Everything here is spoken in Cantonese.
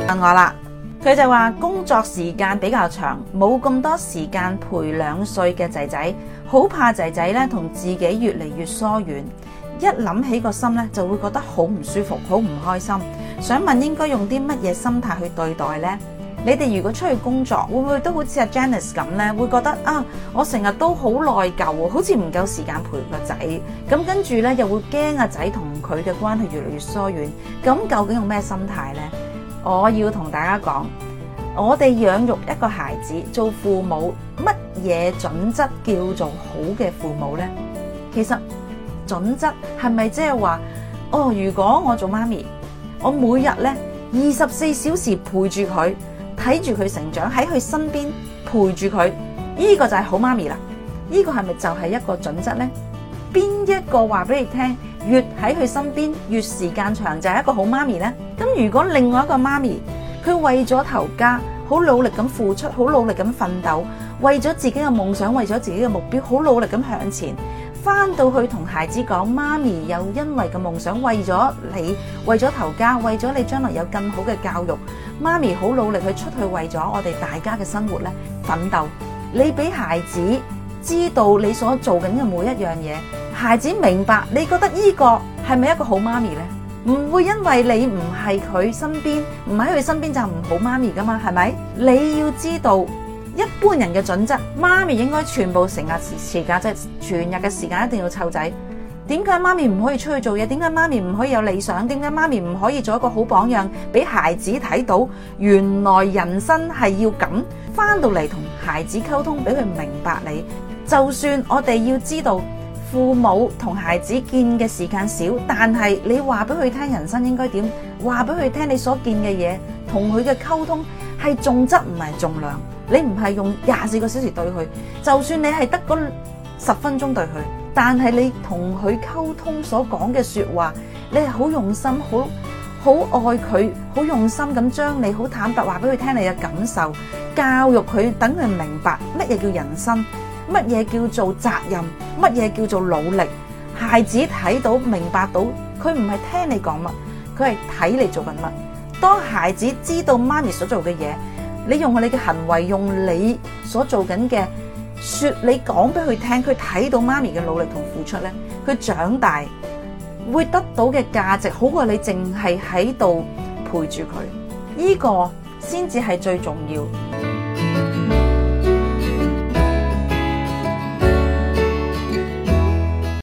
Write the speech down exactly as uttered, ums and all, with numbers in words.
問我啦，佢就話工作時間比較長，冇咁多時間陪兩歲嘅仔仔，好怕仔仔咧同自己越嚟越疏遠，一諗起個心咧就會覺得好唔舒服，好唔開心。想問應該用啲乜嘢心態去對待呢？你哋如果出去工作，會唔會都好似阿 Janice 咁呢？會覺得啊，我成日都好內疚，好似唔夠時間陪個仔，咁跟住呢，又會驚阿仔同佢嘅關係越嚟越疏遠。咁究竟用咩心態呢？我要同大家講，我哋養育一個孩子，做父母乜嘢準則叫做好嘅父母呢？其實準則係咪即係話，哦，如果我做媽咪，我每日呢二十四小時陪住佢，睇住佢成長，喺佢身邊陪住佢，呢個就係好媽咪啦。呢個係咪就係一個準則呢？邊一個話俾你聽，越喺佢身邊越時間長就係一個好媽咪呢？咁如果另外一個媽咪，佢為咗頭家好努力咁付出，好努力咁奮鬥，為咗自己嘅夢想，為咗自己嘅目標，好努力咁向前，翻到去同孩子講，媽咪又因為個夢想，為咗你，為咗頭家，為咗你將來有更好嘅教育，媽咪好努力去出去為咗我哋大家嘅生活咧奮鬥。你俾孩子知道你所做緊嘅每一樣嘢，孩子明白，你覺得呢個係咪一個好媽咪呢？唔會因為你唔係佢身邊，唔喺佢身邊就唔好媽咪噶嘛，係咪？你要知道一般人嘅準則，媽咪應該全部成日時間，即係全日嘅時間一定要湊仔。點解媽咪唔可以出去做嘢？點解媽咪唔可以有理想？點解媽咪唔可以做一個好榜樣，俾孩子睇到原來人生係要咁？翻到嚟同孩子溝通，俾佢明白你。就算我哋要知道父母同孩子見嘅時間少，但係你話俾佢聽人生應該點，話俾佢聽你所見嘅嘢，同佢嘅溝通係重質唔係重量。你唔係用廿四個小時對佢，就算你係得嗰十分鐘對佢，但係你同佢溝通所講嘅說話，你係好用心，好好愛佢，好用心咁將你好坦白話俾佢聽你嘅感受，教育佢，等佢明白乜嘢叫人生，乜嘢叫做責任，乜嘢叫做努力。孩子睇到明白到，佢唔係聽你講乜，佢係睇你做緊乜。當孩子知道媽咪所做嘅嘢，你用你嘅行為，用你所做緊嘅說，你講俾佢聽，佢睇到媽咪嘅努力同付出呢，佢長大會得到嘅價值好過你淨係喺度陪住佢，呢個先至係最重要。